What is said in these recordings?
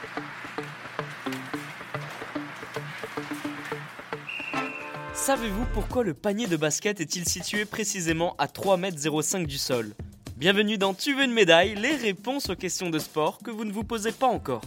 Savez-vous pourquoi le panier de basket est-il situé précisément à 3,05 m du sol ? Bienvenue dans Tu veux une médaille, les réponses aux questions de sport que vous ne vous posez pas encore.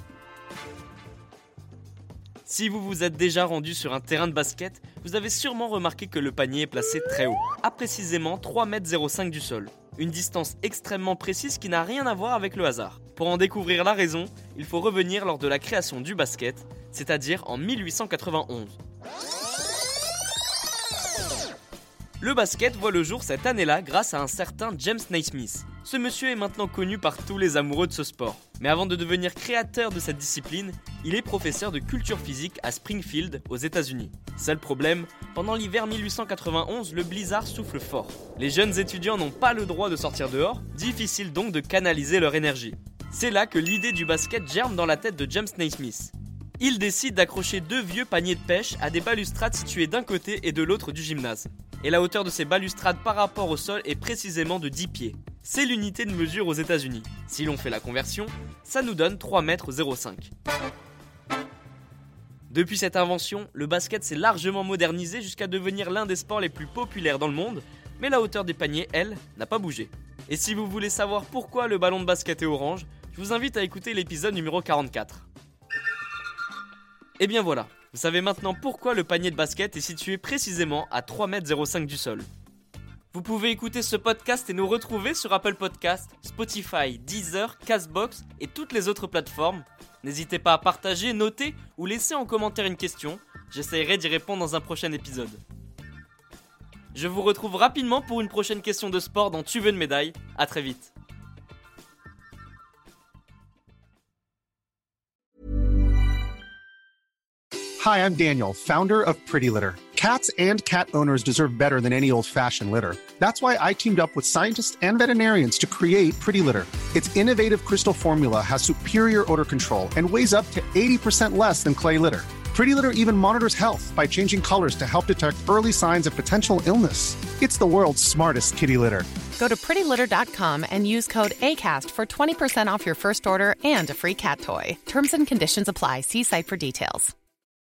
Si vous vous êtes déjà rendu sur un terrain de basket, vous avez sûrement remarqué que le panier est placé très haut, à précisément 3,05 m du sol. Une distance extrêmement précise qui n'a rien à voir avec le hasard. Pour en découvrir la raison, il faut revenir lors de la création du basket, c'est-à-dire en 1891. Le basket voit le jour cette année-là grâce à un certain James Naismith. Ce monsieur est maintenant connu par tous les amoureux de ce sport. Mais avant de devenir créateur de cette discipline, il est professeur de culture physique à Springfield, aux États-Unis. Seul problème, pendant l'hiver 1891, le blizzard souffle fort. Les jeunes étudiants n'ont pas le droit de sortir dehors, difficile donc de canaliser leur énergie. C'est là que l'idée du basket germe dans la tête de James Naismith. Il décide d'accrocher 2 vieux paniers de pêche à des balustrades situées d'un côté et de l'autre du gymnase. Et la hauteur de ces balustrades par rapport au sol est précisément de 10 pieds. C'est l'unité de mesure aux États-Unis. Si l'on fait la conversion, ça nous donne 3,05 m. Depuis cette invention, le basket s'est largement modernisé jusqu'à devenir l'un des sports les plus populaires dans le monde, mais la hauteur des paniers, elle, n'a pas bougé. Et si vous voulez savoir pourquoi le ballon de basket est orange, je vous invite à écouter l'épisode numéro 44. Et bien voilà, vous savez maintenant pourquoi le panier de basket est situé précisément à 3,05 m du sol. Vous pouvez écouter ce podcast et nous retrouver sur Apple Podcasts, Spotify, Deezer, Castbox et toutes les autres plateformes. N'hésitez pas à partager, noter ou laisser en commentaire une question. J'essaierai d'y répondre dans un prochain épisode. Je vous retrouve rapidement pour une prochaine question de sport dans Tu veux une médaille. À très vite. Hi, I'm Daniel, founder of Pretty Litter. Cats and cat owners deserve better than any old-fashioned litter. That's why I teamed up with scientists and veterinarians to create Pretty Litter. Its innovative crystal formula has superior odor control and weighs up to 80% less than clay litter. Pretty Litter even monitors health by changing colors to help detect early signs of potential illness. It's the world's smartest kitty litter. Go to prettylitter.com and use code ACAST for 20% off your first order and a free cat toy. Terms and conditions apply. See site for details.